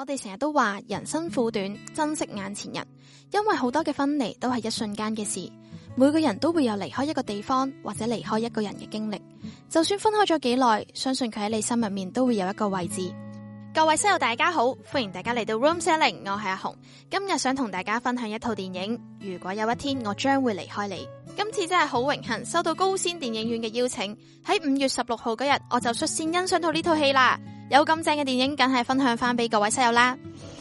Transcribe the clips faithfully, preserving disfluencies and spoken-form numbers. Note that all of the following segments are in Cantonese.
我哋成日都話人生苦短，珍惜眼前人，因為好多嘅分離都係一瞬間嘅事。每個人都會有離開一個地方或者離開一個人嘅經歷，就算分開咗幾耐，相信佢喺你心入面都會有一個位置。各位室友大家好，歡迎大家嚟到 Room 四一零，我係阿紅。今日想同大家分享一套電影，如果有一天我將會離開你。今次真係好榮幸收到高仙電影院嘅邀請，喺五月十六號嗰日我就率先欣賞到呢套戲啦。有咁正嘅電影，梗係分享翻俾各位室友啦。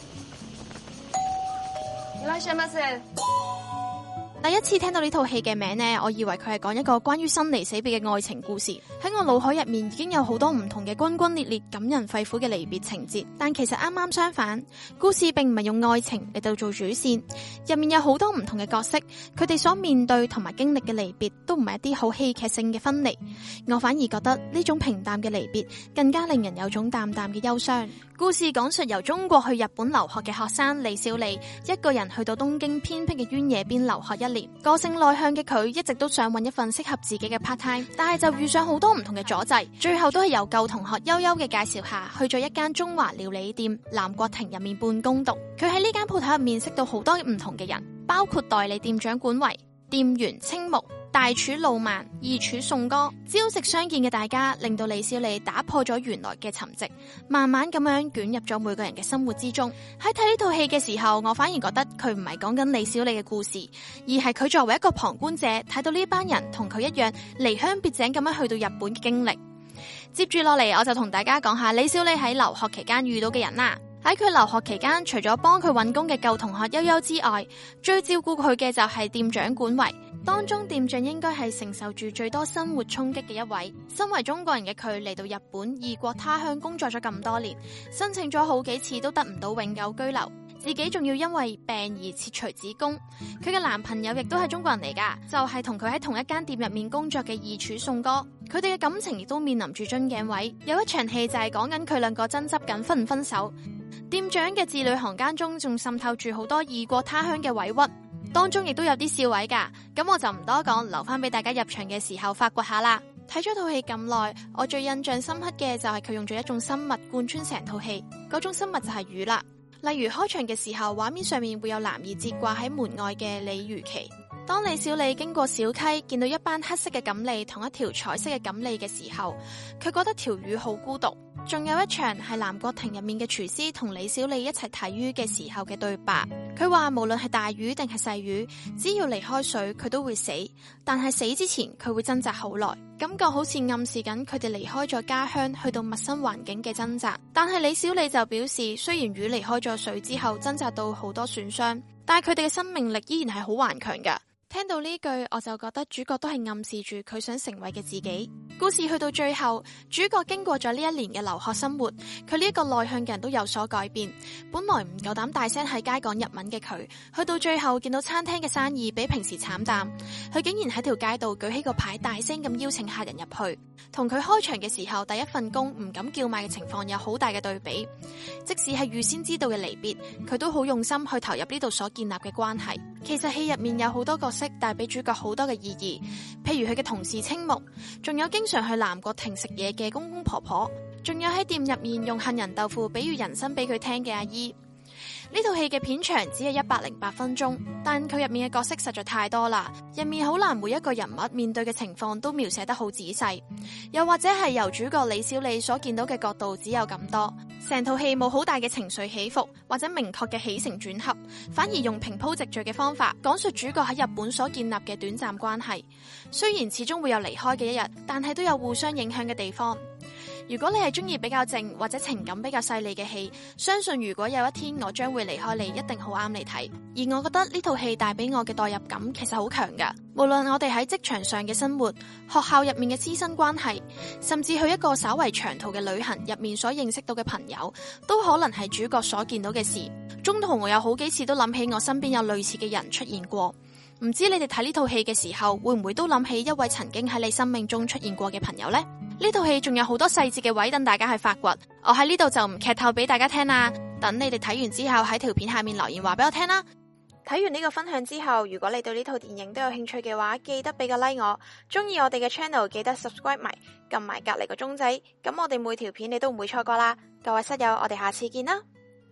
いらっしゃいませ。 第一次聽到呢套戲嘅名呢，我以為佢係講一個關於生離死別嘅愛情故事。喺我腦海入面已經有好多唔同嘅轟轟烈烈、感人肺腑嘅離別情節，但其實啱啱相反，故事並唔係用愛情嚟到做主線，入面有好多唔同嘅角色，佢哋所面對同埋經歷嘅離別都唔係一啲好戲劇性嘅分離，我反而覺得呢種平淡嘅離別更加令人有種淡淡嘅憂傷。故事講述由中國去日本留學嘅學生李小莉，一個人去到東京偏僻嘅淵野邊留學一年。個性內向嘅佢一直都想揾一份適合自己嘅 part time， 但係就遇上好多唔同嘅阻滯，最後都係由舊同學悠悠嘅介紹下，去咗一間中華料理店南國亭入面半工讀。佢喺呢間鋪頭入面識到好多唔同嘅人，包括代理店長管維、店員青木、大廚路曼、二廚宋哥。朝夕相見嘅大家，令到李小莉打破咗原來嘅沉寂，慢慢咁樣捲入咗每個人嘅生活之中。喺睇呢套戲嘅時候，我反而覺得佢唔係講緊李小莉嘅故事，而係佢作為一個旁觀者，睇到呢班人同佢一樣離鄉別井咁樣去到日本嘅經歷。接住落嚟，我就同大家講下李小莉喺留學期間遇到嘅人啦。喺佢留學期間，除咗幫佢揾工嘅舊同學悠悠之外，最照顧佢嘅就係店長管維。當中店長應該係承受住最多生活衝擊嘅一位。身為中國人嘅佢嚟到日本異國他鄉工作咗咁多年，申請咗好幾次都得唔到永久居留，自己仲要因為病而切除子宮。佢嘅男朋友亦都係中國人嚟噶，就係同佢喺同一間店入面工作嘅二廚宋哥。佢哋嘅感情亦都面臨住樽頸位，有一場戲就係講緊佢兩個爭執緊分唔分手。店長嘅字裏行間中仲滲透住好多異國他鄉嘅委屈，當中亦都有啲笑位噶，咁我就唔多講，留翻俾大家入場嘅時候發掘下啦。睇咗套戲咁耐，我最印象深刻嘅就係佢用咗一種生物貫穿成套戲，嗰種生物就係魚啦。例如開場嘅時候，畫面上面會有男兒節掛喺門外嘅鯉魚旗。當李小莉經過小溪，見到一班黑色嘅錦鯉同一條彩色嘅錦鯉嘅時候，佢覺得條魚好孤獨。仲有一場係南國亭入面嘅廚師同李小莉一齊睇魚嘅時候嘅對白，佢話無論係大魚定係細魚，只要離開水佢都會死，但係死之前佢會掙扎好耐，感覺好似暗示緊佢哋離開咗家鄉去到陌生環境嘅掙扎。但係李小莉就表示，雖然魚離開咗水之後掙扎到好多損傷，但係佢哋嘅生命力依然係好頑強㗎。聽到呢句，我就覺得主角都係暗示住佢想成為嘅自己。故事去到最後，主角經過咗呢一年嘅留學生活，佢呢一個內向嘅人都有所改變。本來唔夠膽大聲喺街講日文嘅佢，去到最後見到餐廳嘅生意比平時慘淡，佢竟然喺條街度舉起個牌，大聲咁邀請客人入去。同佢開場嘅時候第一份工唔敢叫賣嘅情況有好大嘅對比。即使係預先知道嘅離別，佢都好用心去投入呢度所建立嘅關係。其實戲入面有好多角色帶俾主角好多嘅意義，譬如佢嘅同事青木，仲有經常去南國亭食嘢嘅公公婆婆，仲有喺店入面用杏仁豆腐比喻人生俾佢聽嘅阿姨。呢套戲嘅片長只係一百零八分鐘，但佢入面嘅角色實在太多啦，入面好難每一個人物面對嘅情況都描寫得好仔細，又或者係由主角李小莉所見到嘅角度只有咁多，成套戲冇好大嘅情緒起伏或者明確嘅起承轉合，反而用平鋪直敘嘅方法講述主角喺日本所建立嘅短暫關係。雖然始終會有離開嘅一日，但係都有互相影響嘅地方。如果你係中意比較靜或者情感比較細膩嘅戲，相信如果有一天我將會離開你，一定好啱你睇。而我覺得呢套戲帶俾我嘅代入感其實好強㗎，無論我哋喺職場上嘅生活、學校入面嘅師生關係，甚至去一個稍為長途嘅旅行入面所認識到嘅朋友，都可能係主角所見到嘅事。中途我有好幾次都諗起我身邊有類似嘅人出現過。唔知你哋睇呢套戲嘅時候，會唔會都諗起一位曾經喺你生命中出現過嘅朋友呢？呢套戲仲有好多細節嘅位等大家去發掘，我喺呢度就唔劇透俾大家聽啦。等你哋睇完之後喺條片下面留言話俾我聽啦。睇完呢個分享之後，如果你對呢套電影都有興趣嘅話，記得俾個 like 我。中意我哋嘅 channel 記得 subscribe 埋，撳埋隔籬個鐘仔，咁我哋每條片你都唔會錯過啦。各位室友，我哋下次見啦。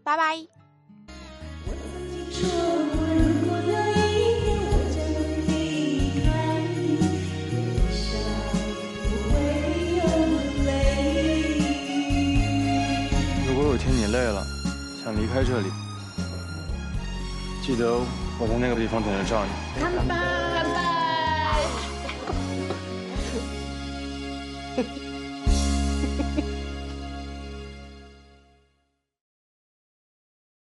拜拜。 如果有天你累了，想离开这里，记得我在那个地方等着照你。 乾杯！乾杯！